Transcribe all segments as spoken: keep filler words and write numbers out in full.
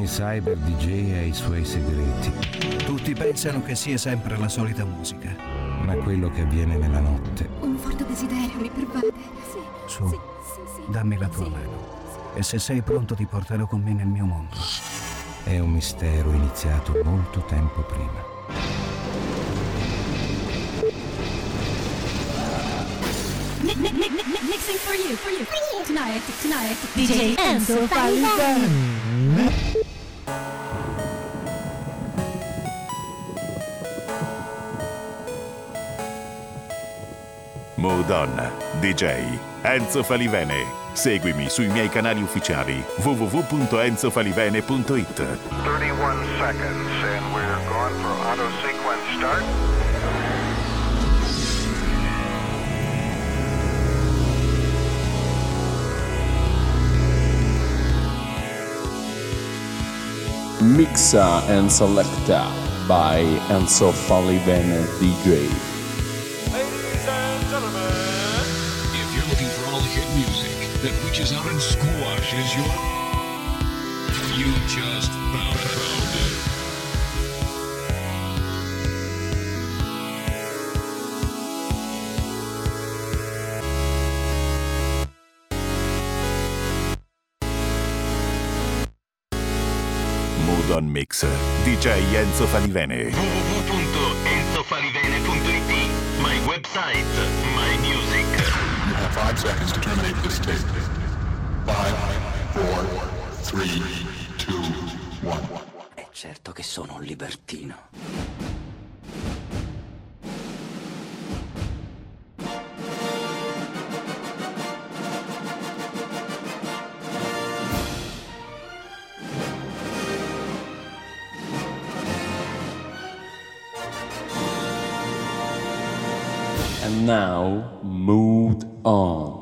Ogni cyber D J ha i suoi segreti. Tutti pensano che sia sempre la solita musica. Ma quello che avviene nella notte... Un forte desiderio mi pervade. Sì. Su, sì, sì, sì. dammi la tua sì. mano. E se sei pronto ti porterò con me nel mio mondo. È un mistero iniziato molto tempo prima. Mixing for you, for you, for you. Tonight, tonight, D J Enzo Falivene. Mood On, D J Enzo Falivene. Seguimi sui miei canali ufficiali w w w punto enzo falivene punto it. thirty-one seconds and we're going for auto sequence start. Mixa and Selecta by Enzo Falivene D J. Ladies and gentlemen, if you're looking for all the hit music that reaches out and squashes your... You just found, found it. Mood On Mix, D J Enzo Falivene. w w w punto enzo falivene punto it. My website, my music. You have five seconds to terminate this tape. Five, four, three, two, one. È certo che sono un libertino. And now, Mood On.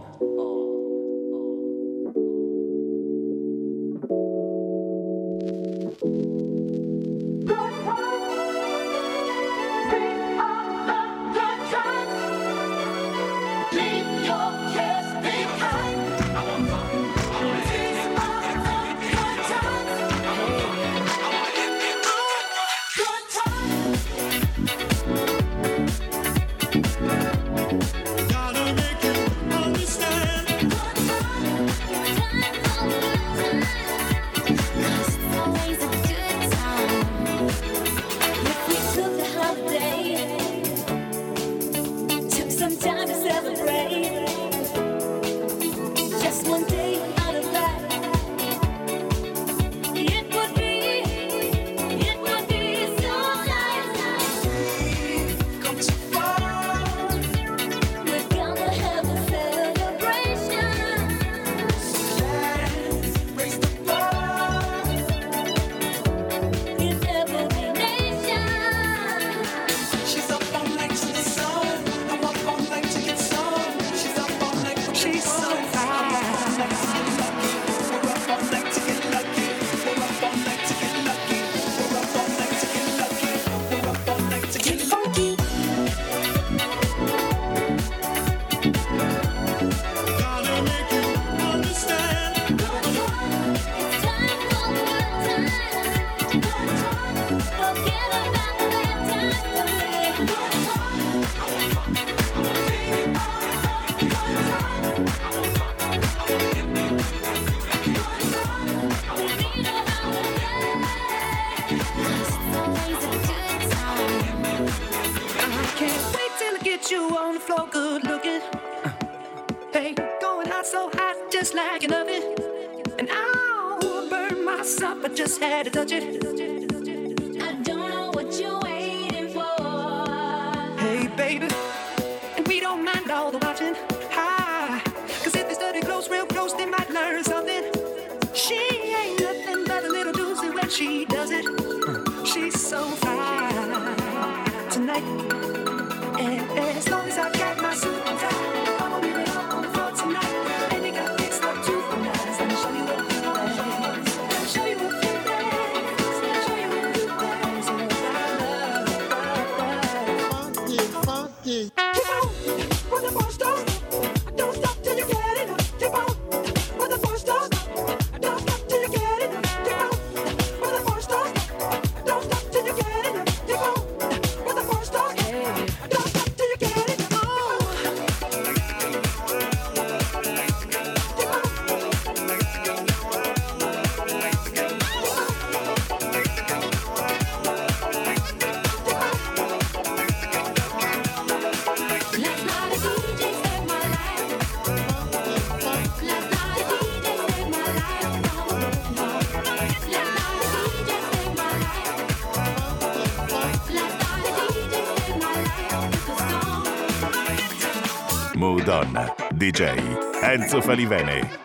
Mood On, D J Enzo Falivene.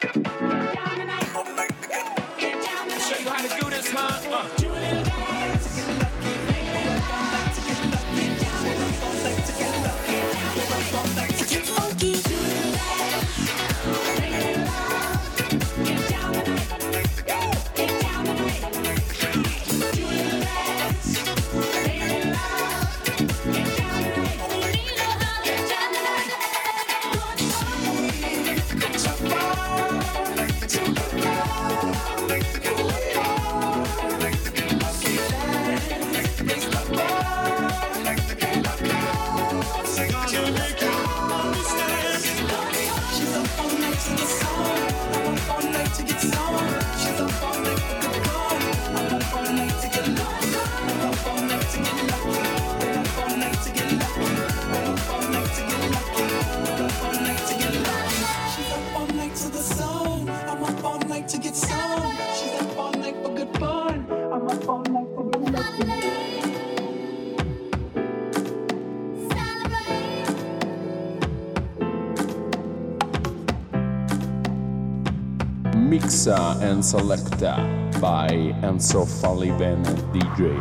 Mixa and Selecta by Enzo Falivene D J.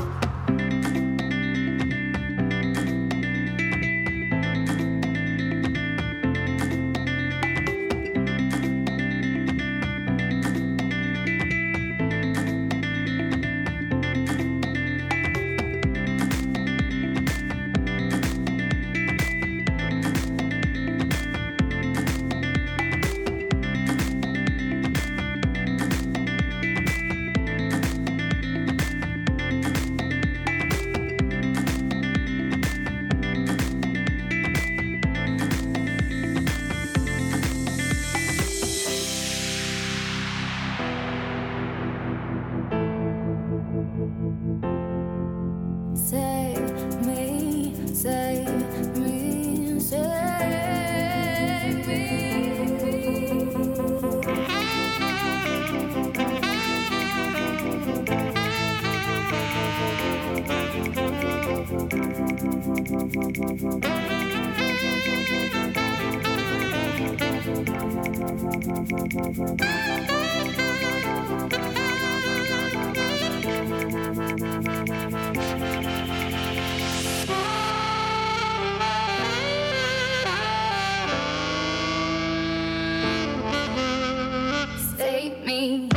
Save me.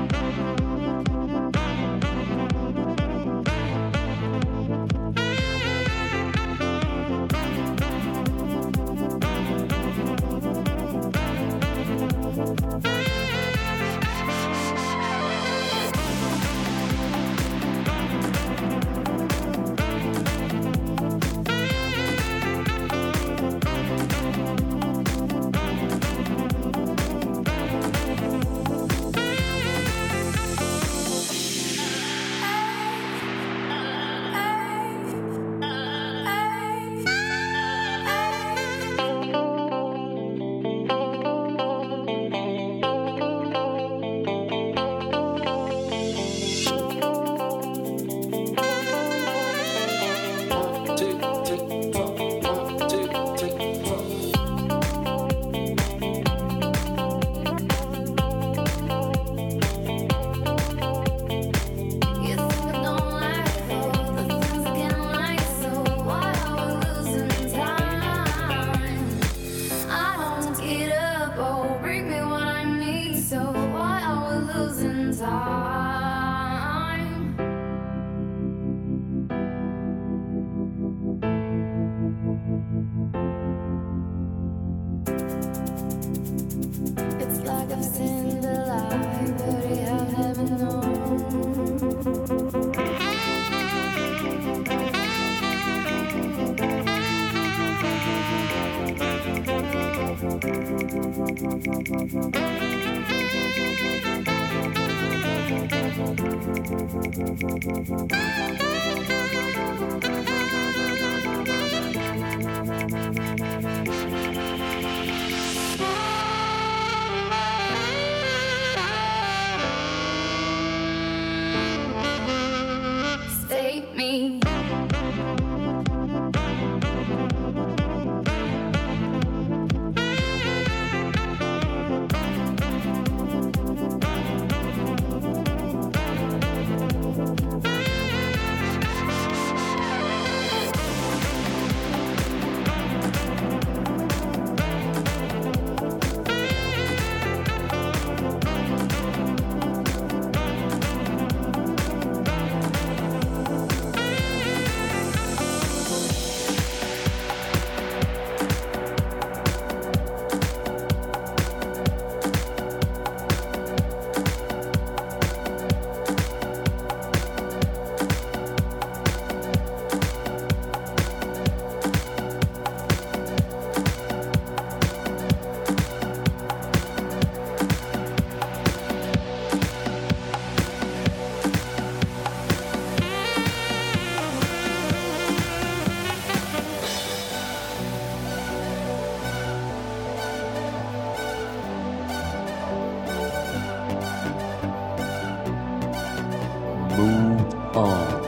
Save me. Groove On.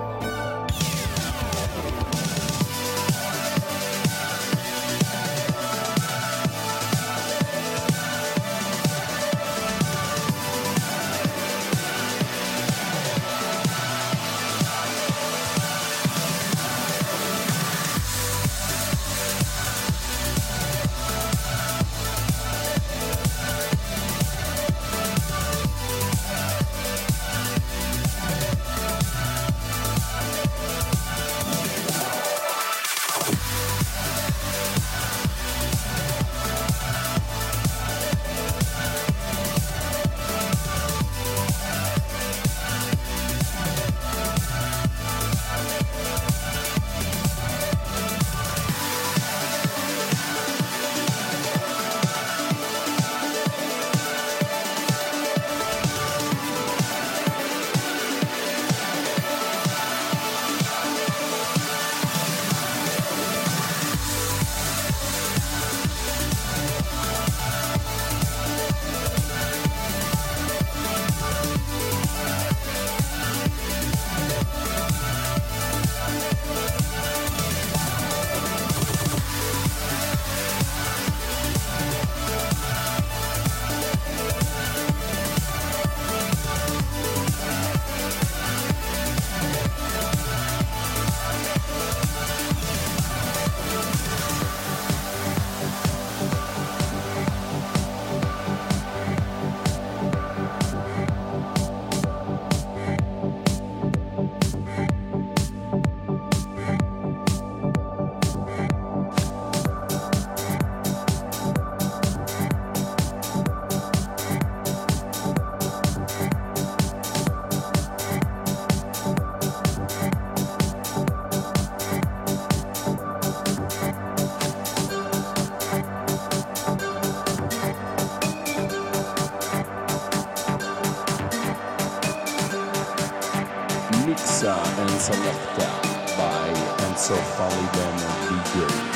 Mixa and Selecta by Enzo Falliben D J.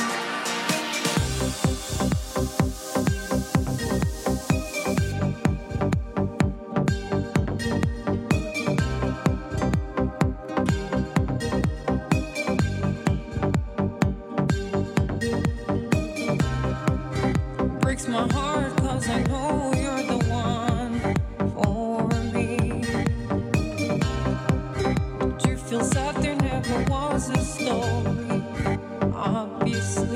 Breaks my heart 'cause I know you're the one for me. But you feel sad, there never was a story, obviously.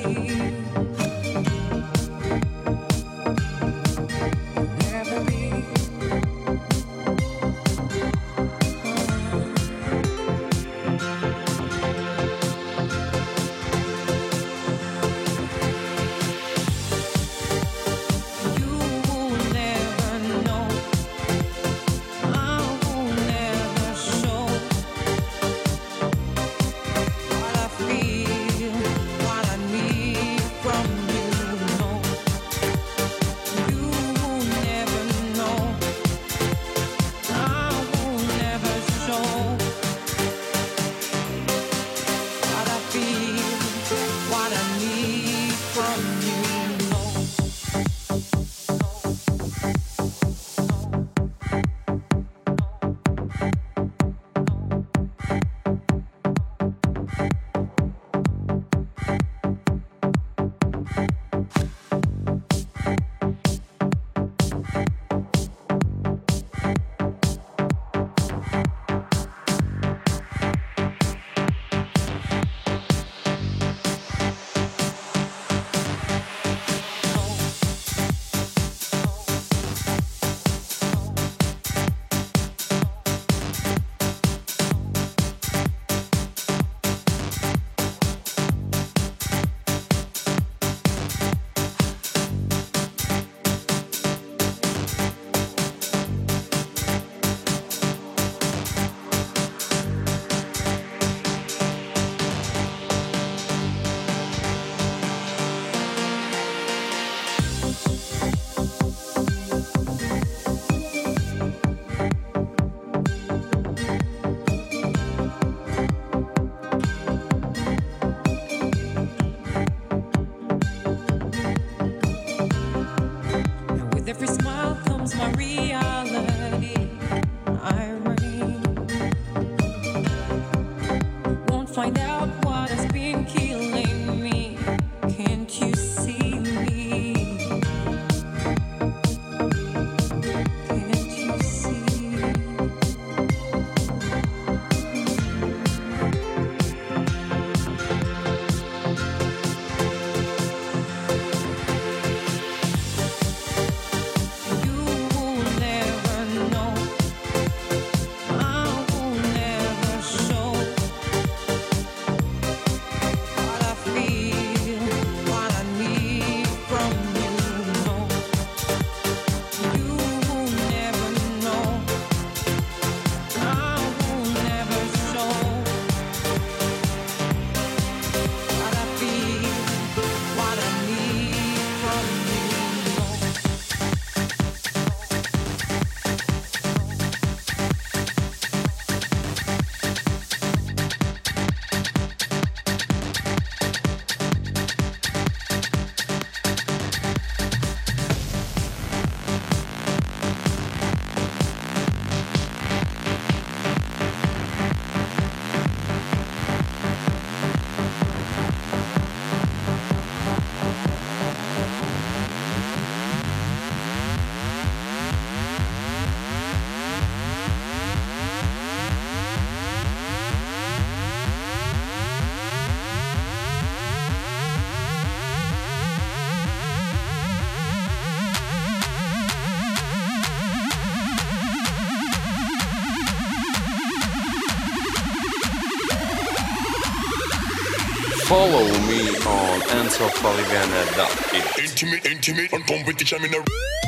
Follow me on enzo falivene dot it. Intimate, intimate, on competition in a...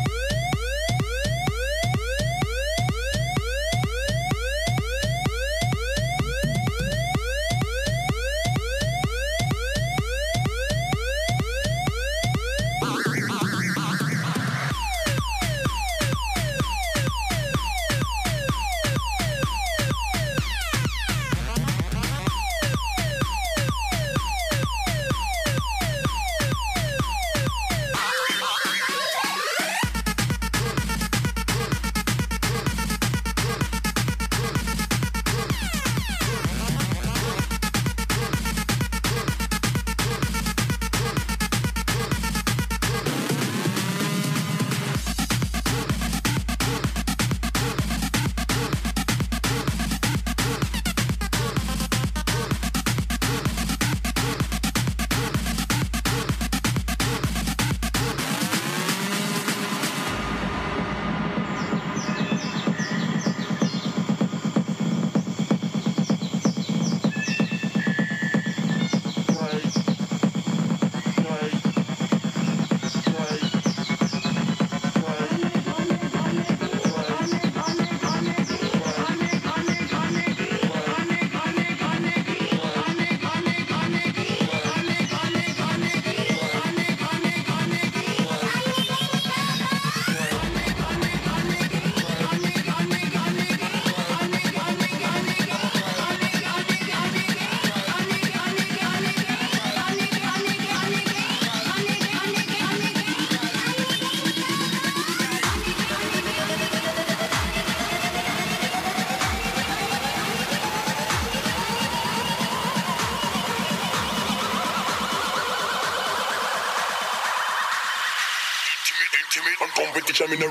Competition in a...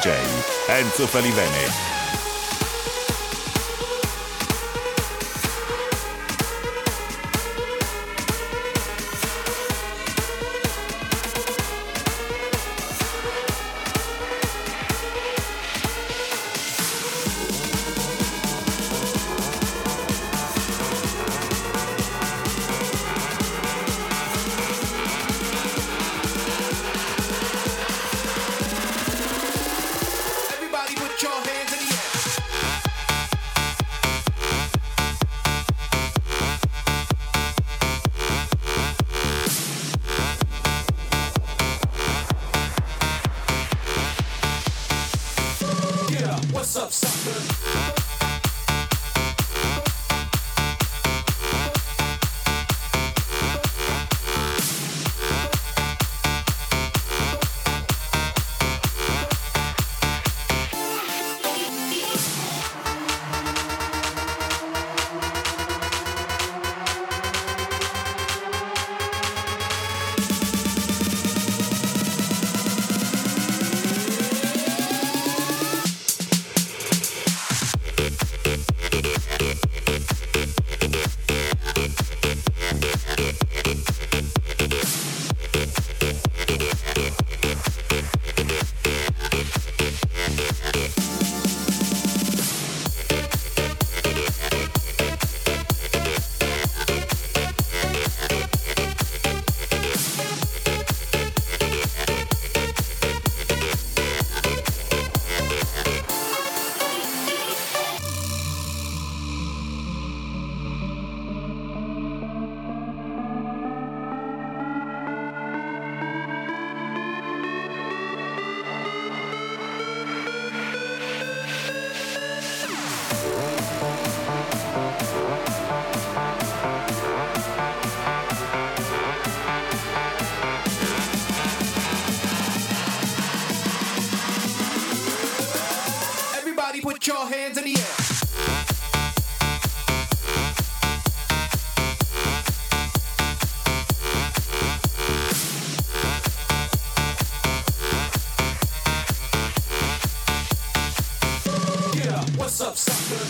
J Enzo Falivene. Put your hands in the air. Yeah, what's up, sucker?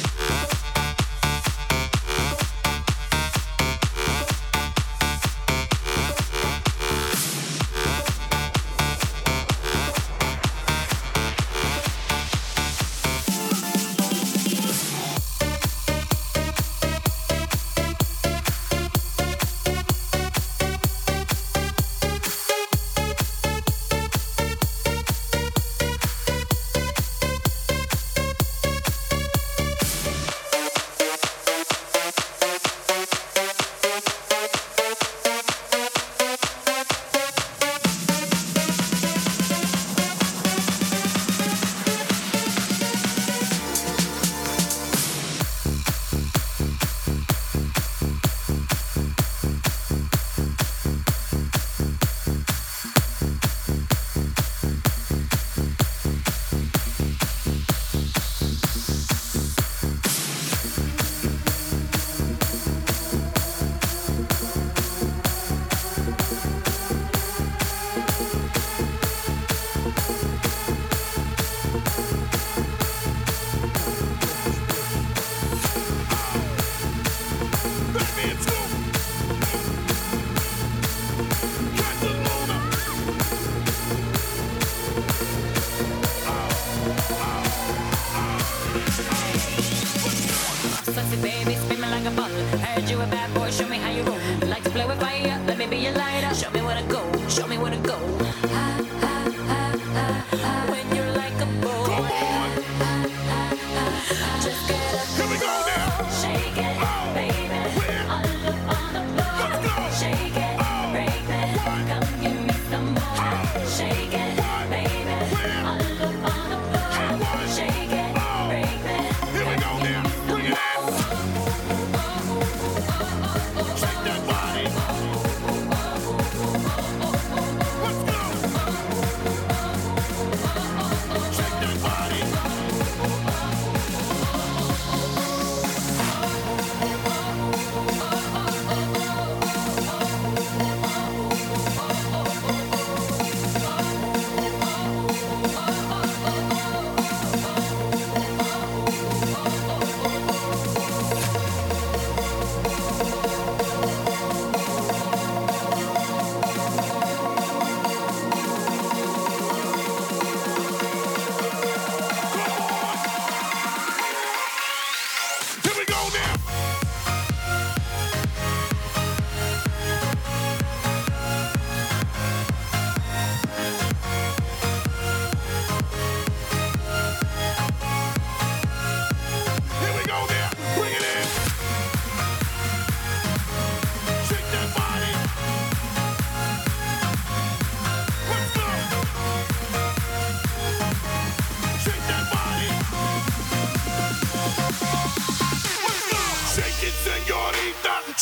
Sexy baby, spin me like a bottle. Heard you a bad boy, show me how you roll. Like to play with fire, let me be your lighter. Show me where to go, show me where to go. Ha, ha, ha, ha, ha. When you're like a boy. Come on. Ha, ha, ha, ha. Just get up. Here we go now. Shake it, oh, baby. Where? All up on the floor. Let's go. Shake it, oh, baby. What? Come give me some more. Oh. Shake it, what? Baby. Where? All up on the floor. What? Shake it, oh, baby. Here we go now. Bring it out. Shake that body. Let's go.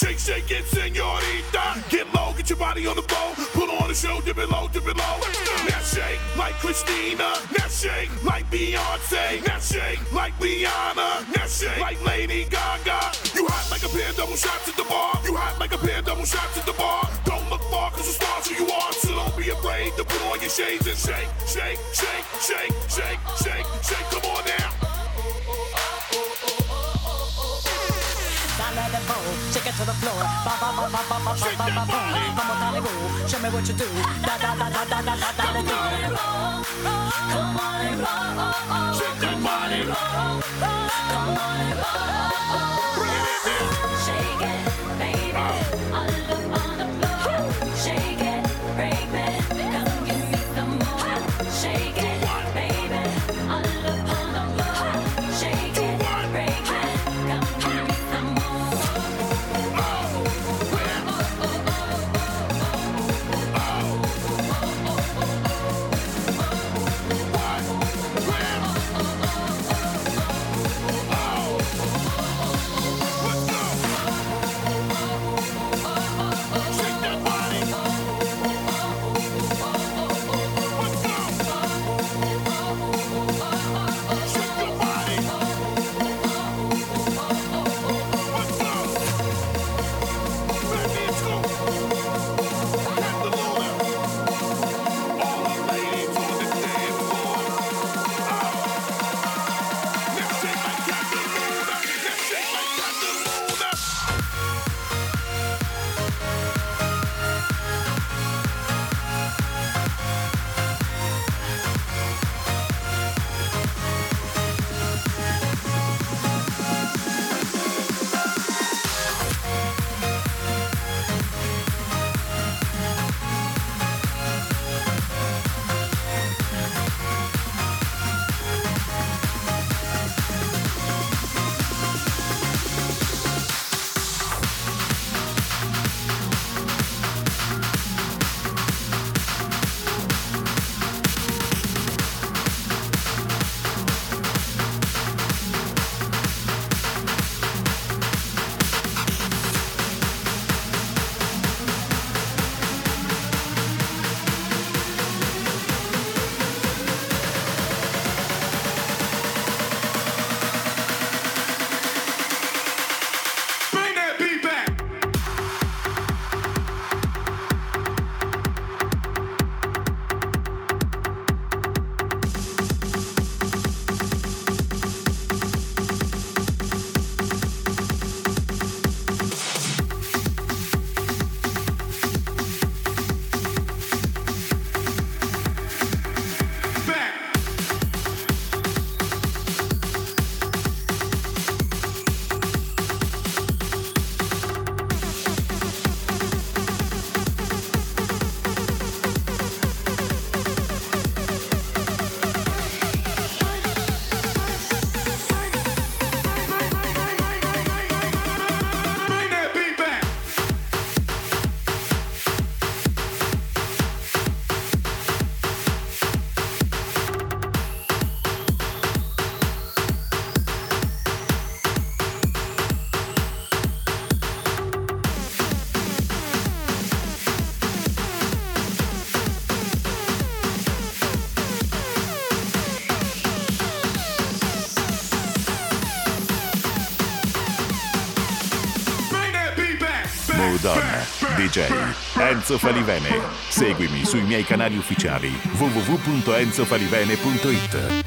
Shake, shake it, señorita. Get low, get your body on the floor. Put on the show, dip it low, dip it low. Now shake like Christina. Now shake like Beyonce. Now shake like Rihanna. Now shake like Lady Gaga. You hot like a pair of double shots at the bar. You hot like a pair of double shots at the bar. Don't look far, cause the stars who you are. So don't be afraid to put on your shades and shake, shake, shake, shake, shake, shake, shake. Come on now. Let it roll, shake it to the floor. Ba ba ba ba ba ba ba ba ba boom. Come on, Hollywood, show me what you do. Da da da da da da da da da. Come on and roll, come on and roll. Shake that body, roll, come on and roll. Bring it in now. Shake it, baby, all up on the floor. Shake it, break me, come give me some more. Shake it, baby, all up on the floor. Shake it, break me, come give me some more. Donna, D J Enzo Falivene. Seguimi sui miei canali ufficiali w w w punto enzo falivene punto it.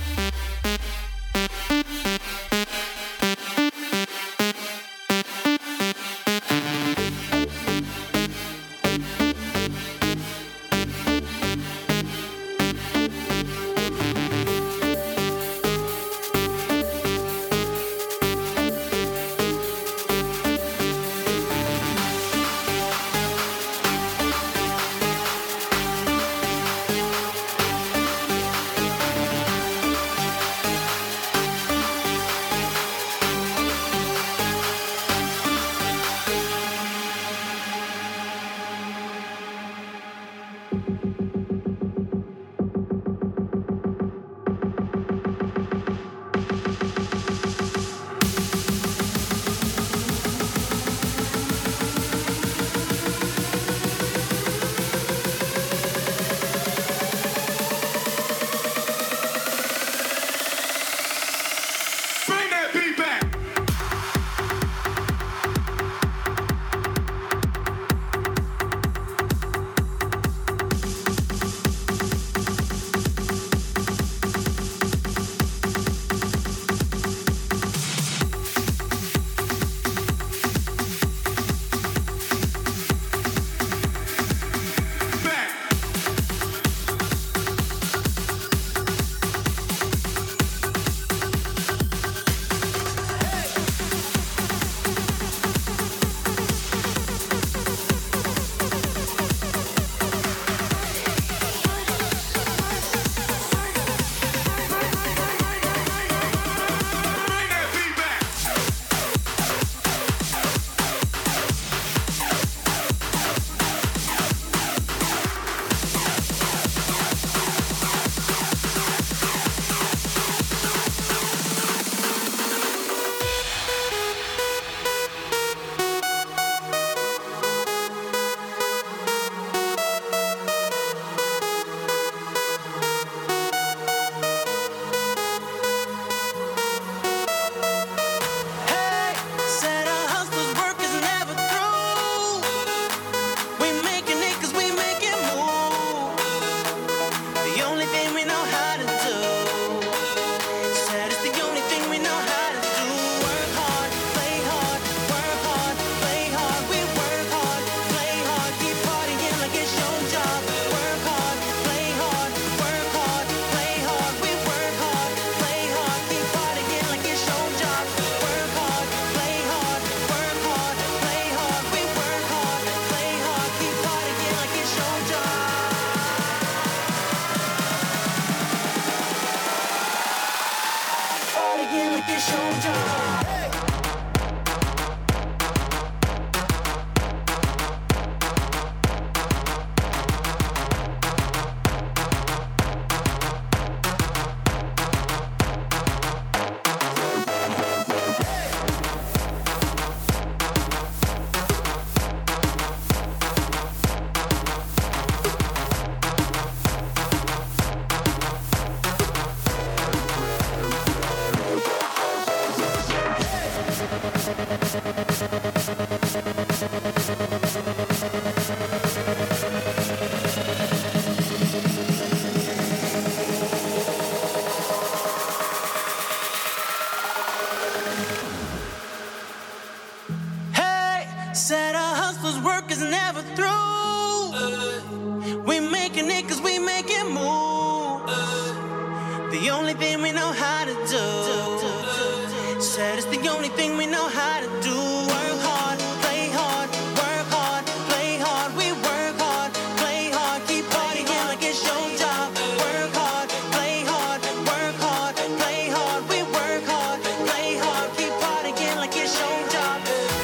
Said our hustler's work is never through. We making it cause we make it move. The only thing we know how to do. Said it's the only thing we know how to do. Work hard, play hard, work hard, play hard. We work hard, play hard, keep partying like it's your job. Work hard, play hard, work hard, play hard. We work hard, play hard, keep partying like it's your job.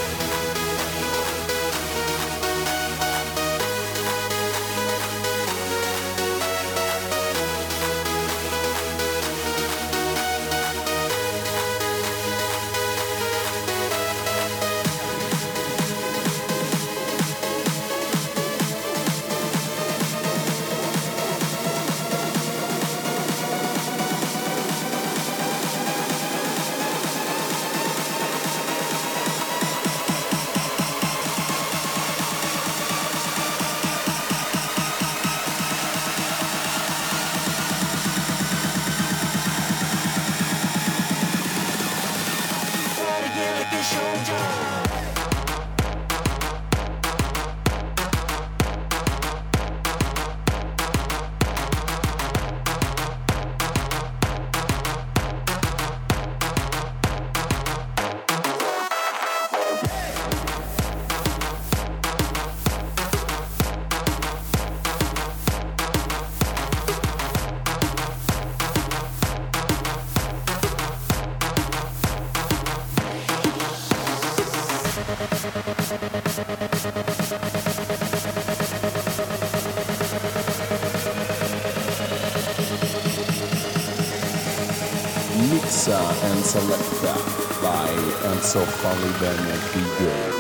Mixa and Selecta by Enzo Falivene D J.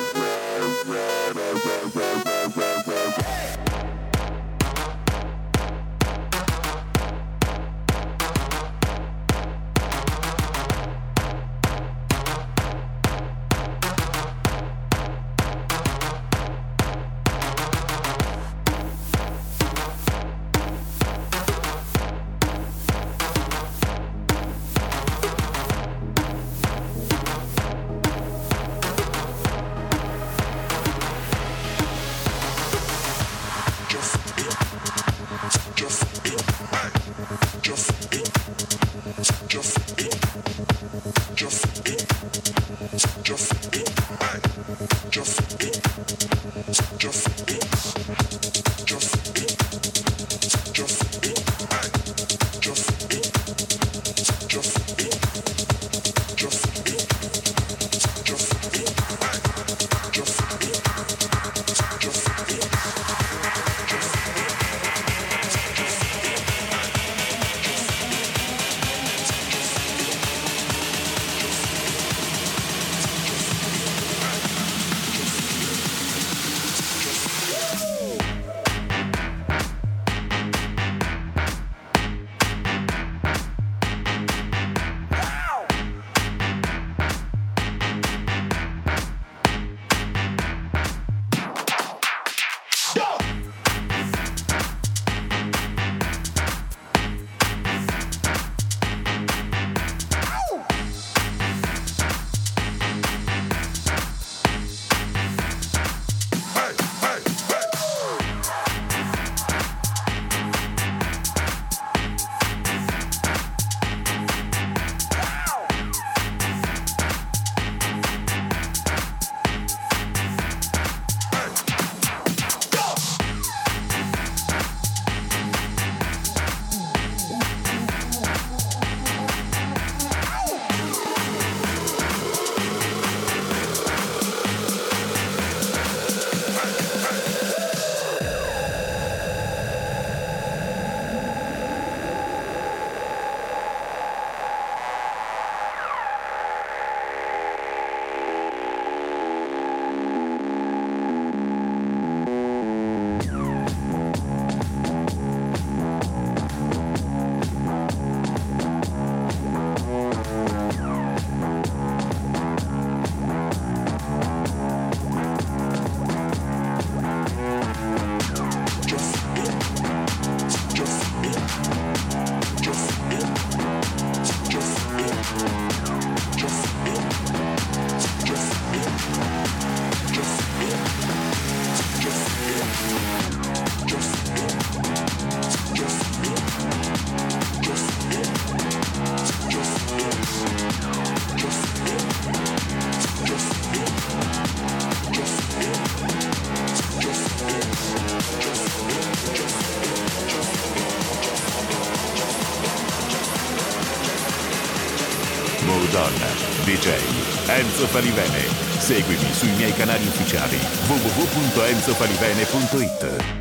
D J Enzo Falivene. Seguimi sui miei canali ufficiali w w w punto enzo falivene punto it.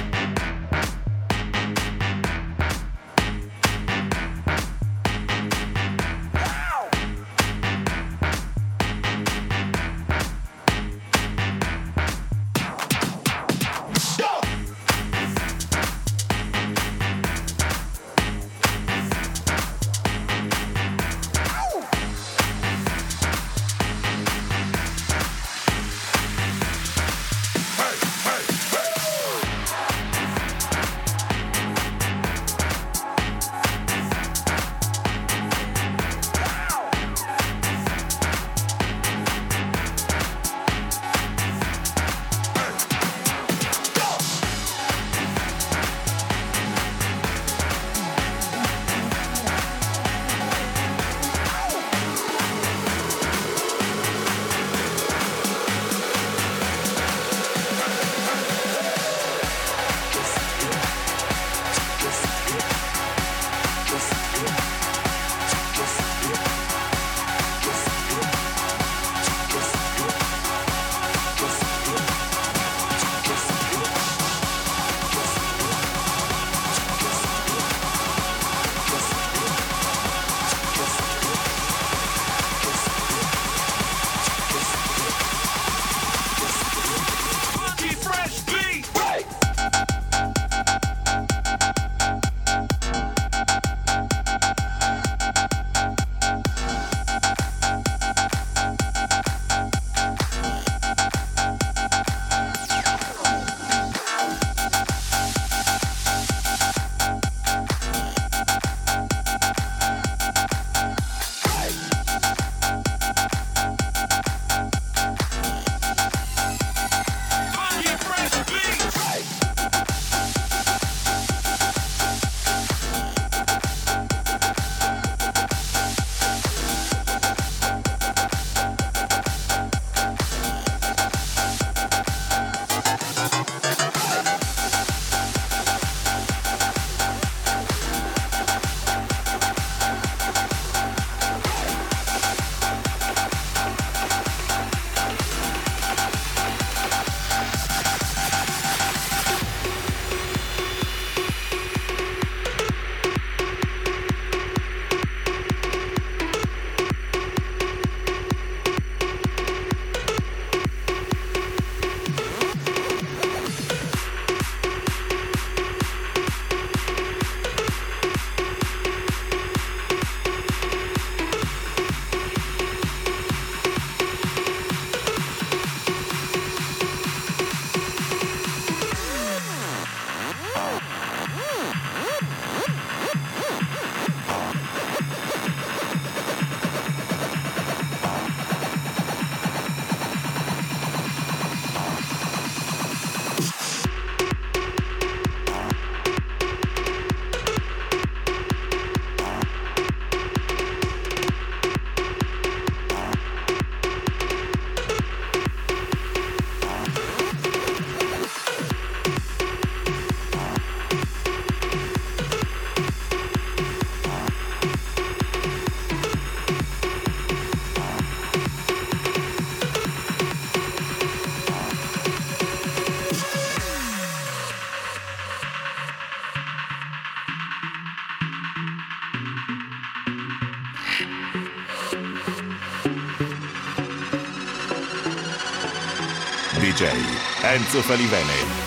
D J Enzo Falivene.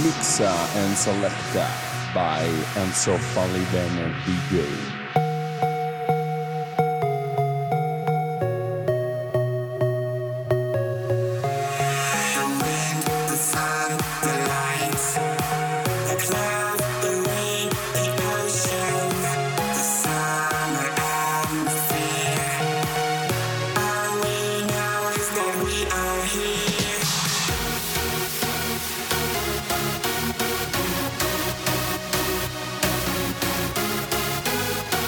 Mixa and Selecta by Enzo Falivene D J. Here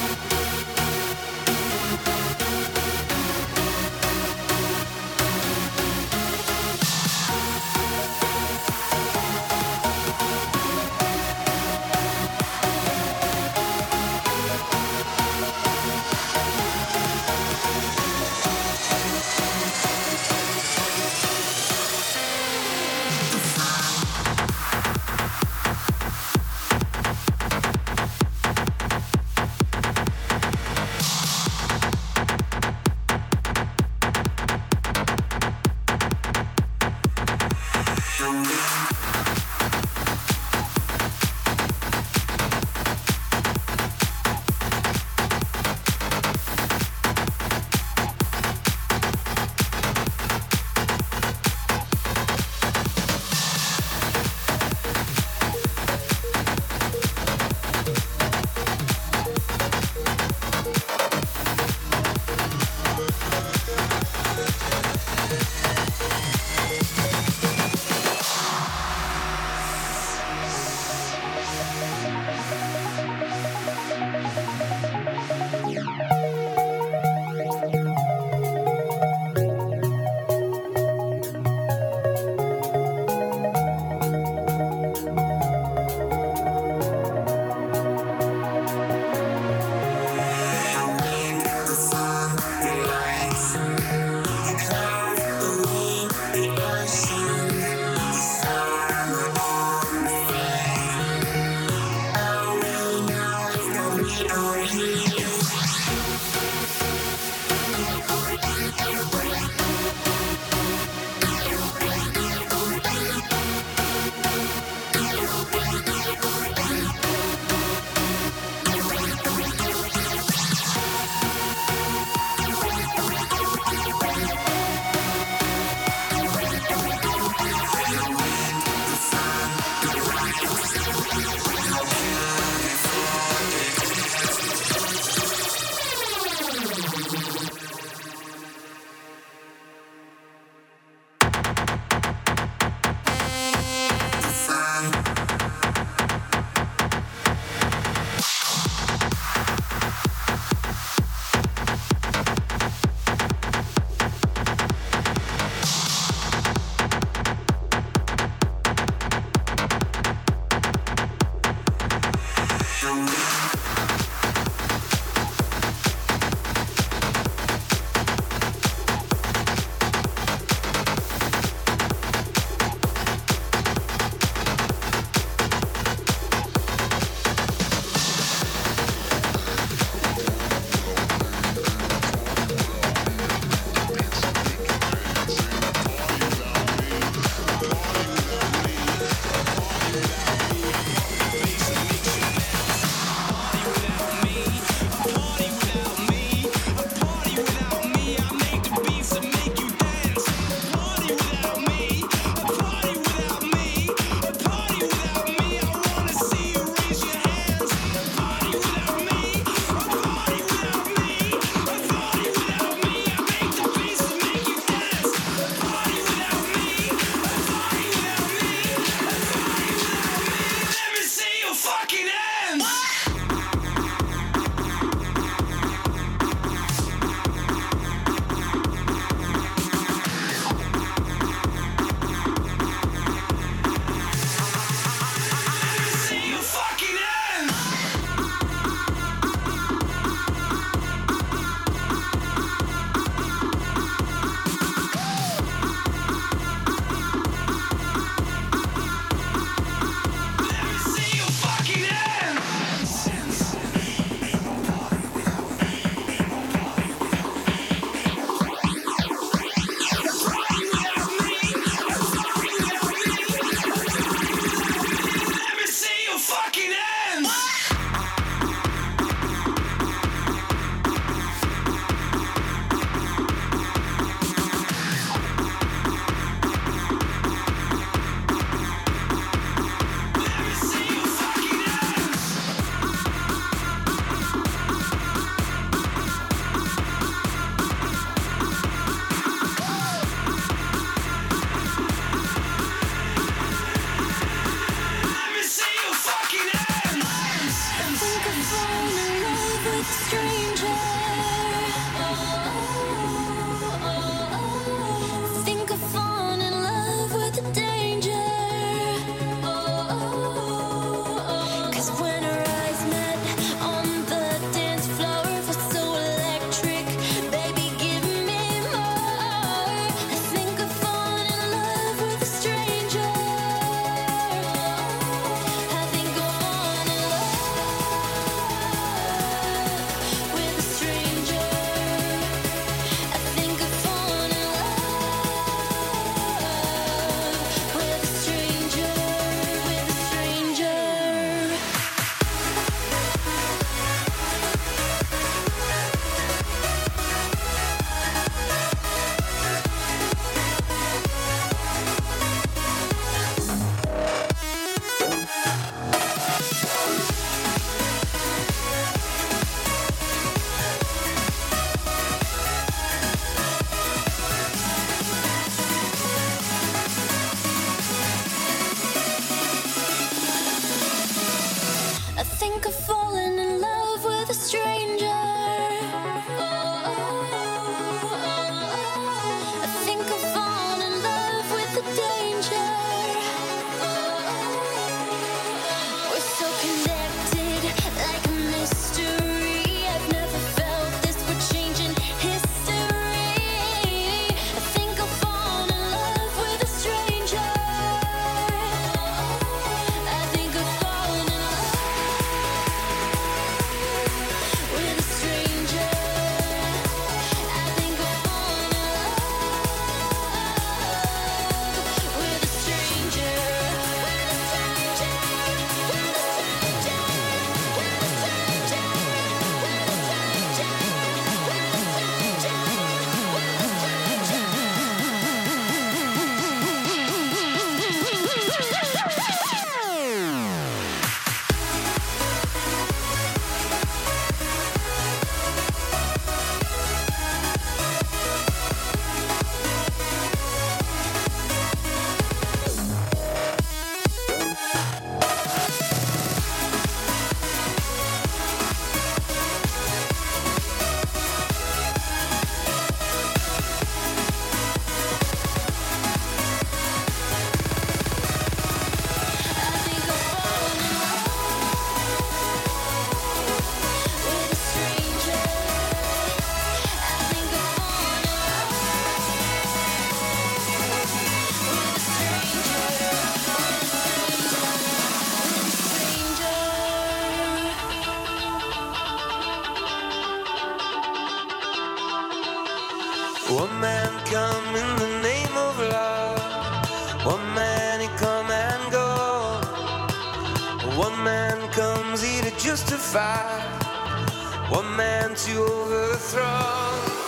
One man come in the name of love. One man he come and go. One man comes here to justify. One man to overthrow.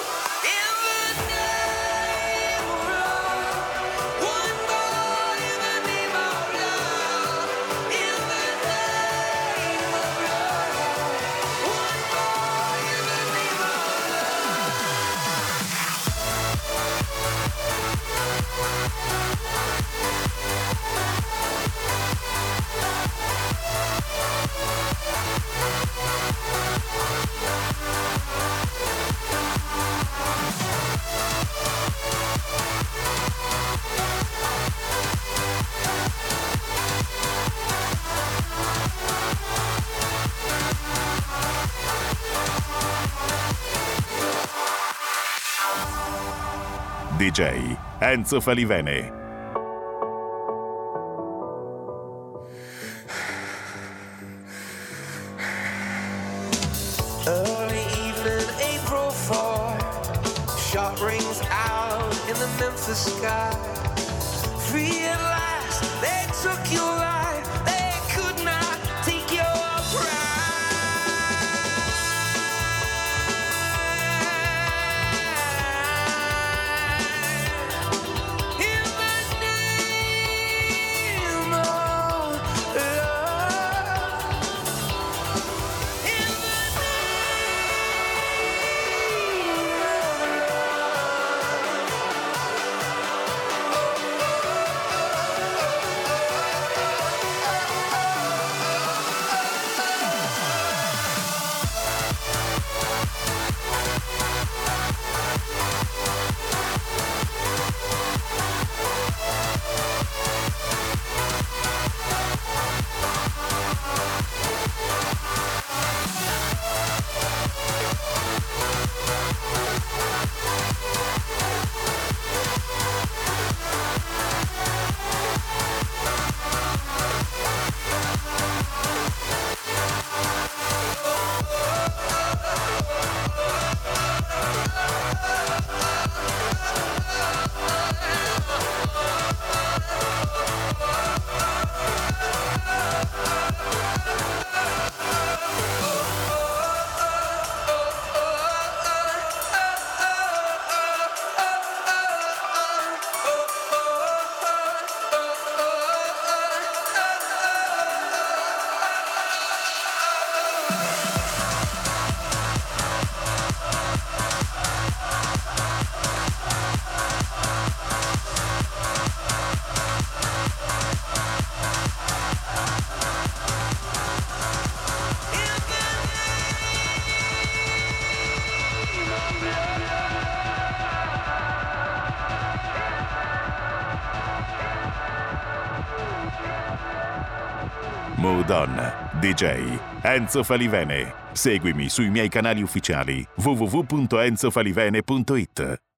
D J Enzo Falivene. Early evening, April fourth, shot rings out in the Memphis sky. Free at last, they took your life, they could not take your pride. Move On, D J Enzo Falivene. Seguimi sui miei canali ufficiali w w w punto enzo falivene punto it.